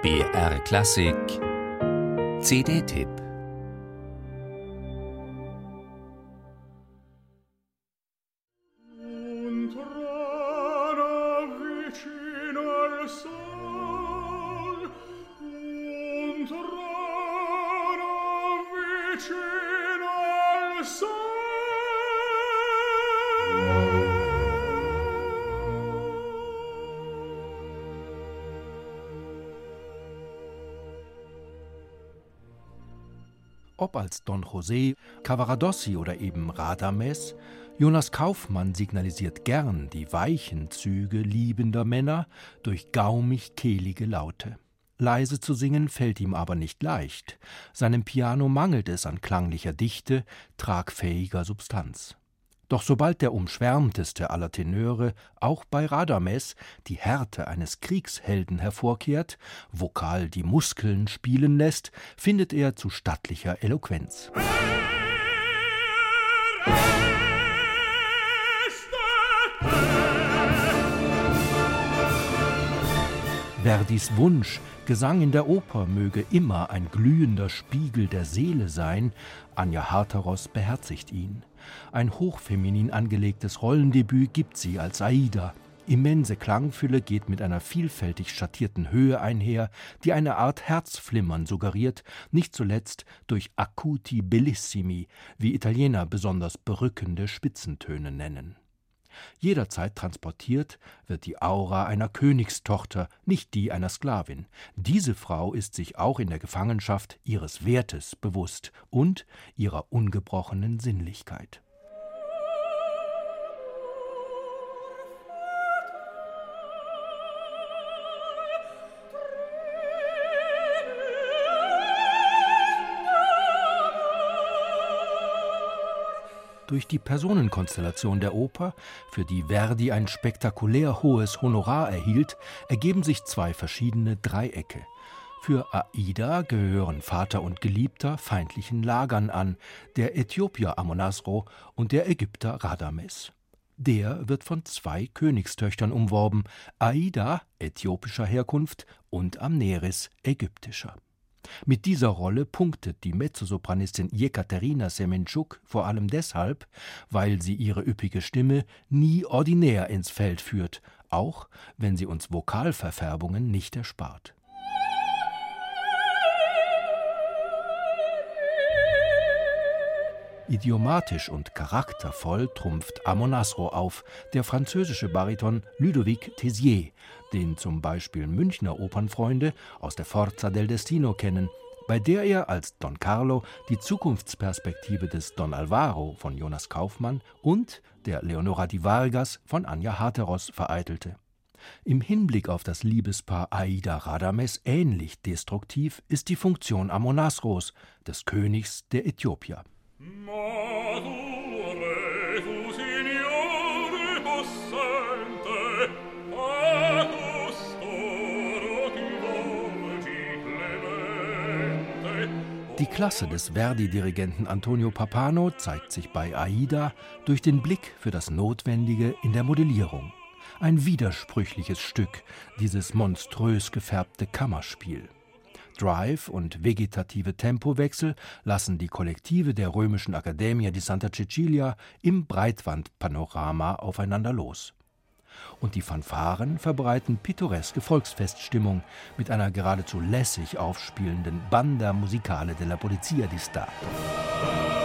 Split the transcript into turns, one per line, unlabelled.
BR Klassik CD-Tipp.
Ob als Don José, Cavaradossi oder eben Radames, Jonas Kaufmann signalisiert gern die weichen Züge liebender Männer durch gaumig-kehlige Laute. Leise zu singen fällt ihm aber nicht leicht. Seinem Piano mangelt es an klanglicher Dichte, tragfähiger Substanz. Doch sobald der umschwärmteste aller Tenöre auch bei Radames die Härte eines Kriegshelden hervorkehrt, vokal die Muskeln spielen lässt, findet er zu stattlicher Eloquenz. Verdis Wunsch, Gesang in der Oper möge immer ein glühender Spiegel der Seele sein, Anja Harteros beherzigt ihn. Ein hochfeminin angelegtes Rollendebüt gibt sie als Aida. Immense Klangfülle geht mit einer vielfältig schattierten Höhe einher, die eine Art Herzflimmern suggeriert, nicht zuletzt durch acuti bellissimi, wie Italiener besonders berückende Spitzentöne nennen. Jederzeit transportiert wird die Aura einer Königstochter, nicht die einer Sklavin. Diese Frau ist sich auch in der Gefangenschaft ihres Wertes bewusst und ihrer ungebrochenen Sinnlichkeit. Durch die Personenkonstellation der Oper, für die Verdi ein spektakulär hohes Honorar erhielt, ergeben sich zwei verschiedene Dreiecke. Für Aida gehören Vater und Geliebter feindlichen Lagern an, der Äthiopier Amonasro und der Ägypter Radames. Der wird von zwei Königstöchtern umworben, Aida äthiopischer Herkunft und Amneris ägyptischer. Mit dieser Rolle punktet die Mezzosopranistin Jekaterina Semenchuk vor allem deshalb, weil sie ihre üppige Stimme nie ordinär ins Feld führt, auch wenn sie uns Vokalverfärbungen nicht erspart. Idiomatisch und charaktervoll trumpft Amonasro auf, der französische Bariton Ludovic Tézier, den zum Beispiel Münchner Opernfreunde aus der Forza del Destino kennen, bei der er als Don Carlo die Zukunftsperspektive des Don Alvaro von Jonas Kaufmann und der Leonora di Vargas von Anja Harteros vereitelte. Im Hinblick auf das Liebespaar Aida-Radames ähnlich destruktiv ist die Funktion Amonasros, des Königs der Äthiopier. Die Klasse des Verdi-Dirigenten Antonio Pappano zeigt sich bei Aida durch den Blick für das Notwendige in der Modellierung. Ein widersprüchliches Stück, dieses monströs gefärbte Kammerspiel. Drive und vegetative Tempowechsel lassen die Kollektive der römischen Accademia di Santa Cecilia im Breitwandpanorama aufeinander los. Und die Fanfaren verbreiten pittoreske Volksfeststimmung mit einer geradezu lässig aufspielenden Banda Musicale della Polizia di Stato.